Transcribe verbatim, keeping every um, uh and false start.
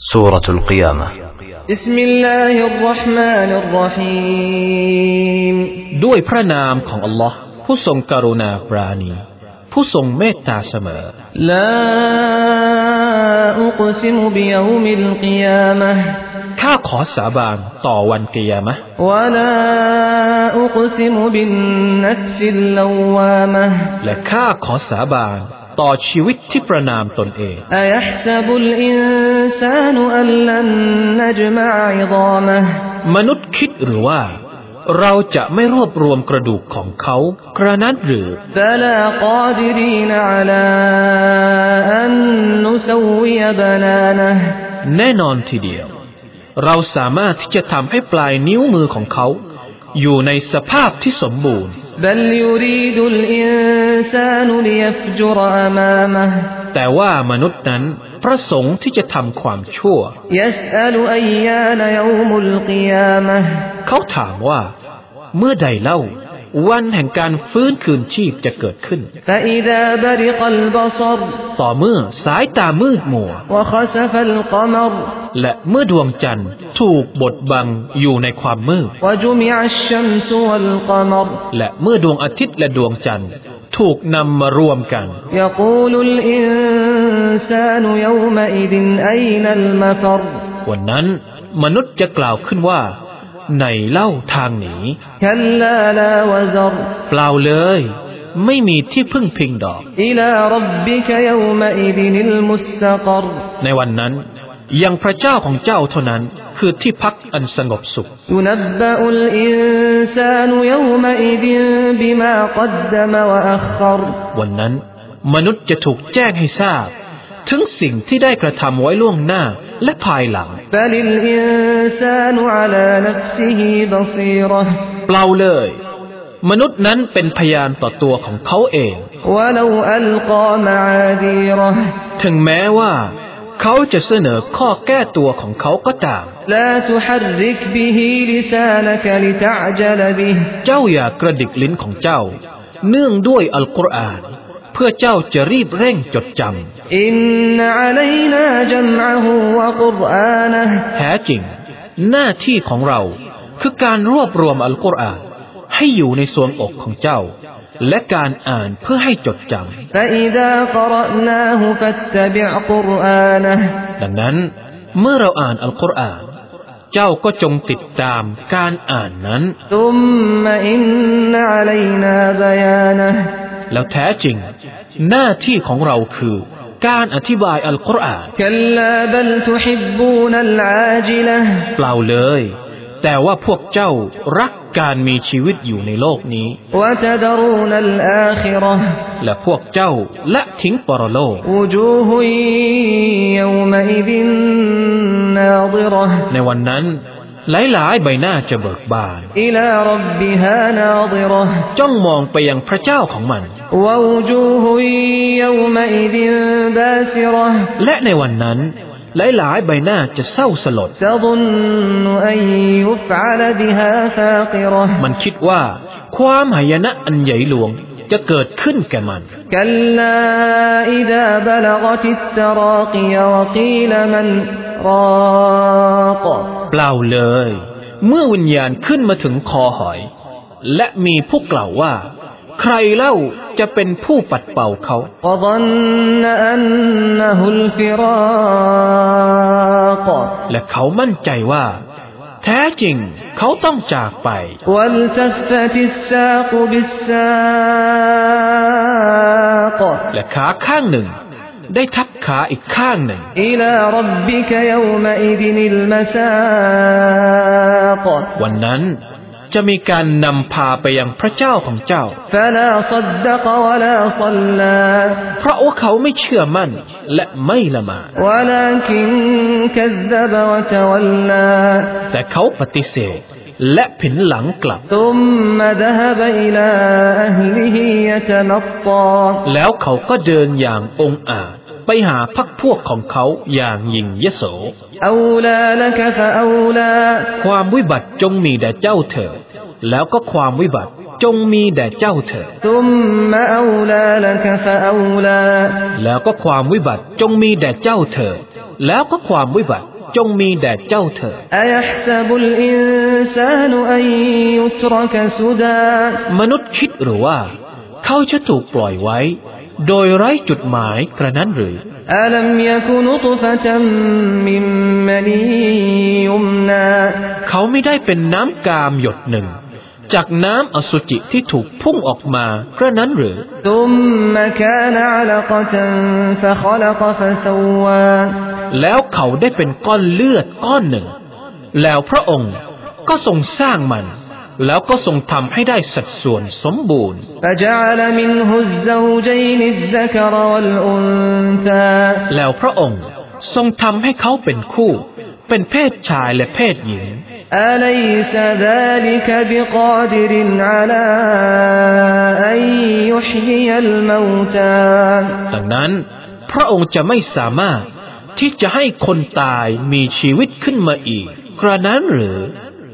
سورة القيامة بسم الله الرحمن الرحيم ด้วยพระนามของอัลลอฮ์ผู้ทรงกรุณาปราณีผู้ทรงเมตตาเสมอ لا أقسم بيوم القيامة ข้าขอสาบานต่อวันกิยามะห์ ولا أقسم بالنفس اللوامة และข้าขอสาบานต่อชีวิตที่ประนามตนเอง أيحسب الإنسان أن لن نجمع عظامه มนุษย์คิดหรือว่าเราจะไม่รวบรวมกระดูกของเขากระนั้นหรือ بلى قادرين على أن نسوي بنانه แน่นอนทีเดียวเราสามารถที่จะทำให้ปลายนิ้วมือของเขาอยู่ในสภาพที่สมบูรณ์ بل يريد الإنسان ليفجر أمامه แต่ว่ามนุษย์นั้นประสงค์ที่จะทำความชั่ว يسأل أيان يوم القيامة เขาถามว่าเมื่อใดเล่าวันแห่งการฟื้นคืนชีพจะเกิดขึ้น فإذا برق البصر ต่อเมื่อสายตามืดมัว وخسف القمر และเมื่อดวงจันทร์ถูกบดบังอยู่ในความมืด وجمع الشمس والقمر และเมื่อดวงอาทิตย์และดวงจันทร์ถูกนำมารวมกัน يقول الإنسان يومئذ أين المفر วันนั้นมนุษย์จะกล่าวขึ้นว่าไหนเล่าทางหนี كلا لا وزر เปล่าเลยไม่มีที่พึ่งพิงดอก إلى ربك يومئذ المستقر ในวันนั้นยังพระเจ้าของเจ้าเท่านั้นคือที่พักอันสงบสุข ينبأ الإنسان يومئذ بما قدم وأخر วันนั้นมนุษย์จะถูกแจ้งให้ทราบถึงสิ่งที่ได้กระทำไว้ล่วงหน้าและภายหลัง بل الإنسان على نفسه بصيرة เปล่าเลยมนุษย์นั้นเป็นพยานต่อตัวของเขาเอง ولو ألقى معاذيره ถึงแม้ว่าเขาจะเสนอข้อแก้ตัวของเขาก็ตาม لا تحرك به لسانك لتعجل به เจ้าอย่ากระดิกลิ้นของเจ้าเนื่องด้วยอัลกุรอานเพื่อเจ้าจะรีบเร่งจดจำ إن علينا جمعه وقرآنه แท้จริงหน้าที่ของเราคือการรวบรวมอัลกุรอานให้อยู่ในสวงอกของเจ้าและการอ่านเพื่อให้จดจำ فإذا قرأناه فاتبع قرآنه ดังนั้นเมื่อเราอ่านอัลกุรอานเจ้าก็จงติดตามการอ่านนั้น ثم إن علينا بيانه แล้วแท้จริงหน้าที่ของเราคือการอธิบายอัลกุรอาน كلا بل تحبون العاجلة เปล่าเลยแต่ว่าพวกเจ้ารักการมีชีวิตอยู่ในโลกนี้ وتذرون الآخرة และพวกเจ้าละทิ้งปรโลก وجوه يومئذ ناظرة ในวันนั้นหลายๆใบหน้าจะเบิกบาน إلى ربها ناظرة จ้องมองไปยังพระเจ้าของมัน ووجوه يومئذ باسرة และในวันนั้นหลายๆใบหน้าจะเศร้าสลด تظن أن يفعل بها فاقرة มันคิดว่าความหายนะอันใหญ่หลวงจะเกิดขึ้นแก่มัน كلا إذا بلغت التراقي وقيل من راق เปล่าเลยเมื่อวิญญาณขึ้นมาถึงคอหอยและมีผู้กล่าวว่าใครเล่าจะเป็นผู้ปัดเป่าเขา وظن أنه الفراق และเขามั่นใจว่าแท้จริงเขาต้องจากไป والتفت الساق بالساق และขาข้างหนึ่งได้ทับขาอีกข้างหนึ่ง إلى ربك يومئذ المساق วันนั้นจะมีการนำพาไปยังพระเจ้าของเจ้า فلا صدق ولا صلى เพราะว่าเขาไม่เชื่อมั่นและไม่ละหมาด ولكن كذب وتولى แต่เขาปฏิเสธและผินหลังกลับ ثم ذهب إلى أهله يتمطى แล้วเขาก็เดินอย่างองอาจไปหาพรรคพวกของเขาอย่างยิ่งยโส أولى لك فأولى ความวิบัติจงมีแด่เจ้าเถิดแล้วก็ความวิบัติจงมีแด่เจ้าเถิด ثم أولى لك فأولى แล้วก็ความวิบัติจงมีแด่เจ้าเถิดแล้วก็ความวิบัติจงมีแด่เจ้าเถิดมนุษย์คิดหรือว่าเขาจะถูกปล่อยไว้โดยไร้จุดหมายกระนั้นหรือเขาไม่ได้เป็นน้ำกามหยดหนึ่งจากน้ำอสุจิที่ถูกพุ่งออกมากระนั้นหรือแล้วเขาได้เป็นก้อนเลือดก้อนหนึ่งแล้วพระองค์ก็ทรงสร้างมันแล้วก็ทรงทำให้ได้สัดส่วนสมบูรณ์แล้วพระองค์ทรงทำให้เขาเป็นคู่เป็นเพศชายและเพศหญิง أليس ذلك بقادر على أن يحيي الموتى ดังนั้นพระองค์จะไม่สามารถที่จะให้คนตายมีชีวิตขึ้นมาอีกกระนั้นหรือ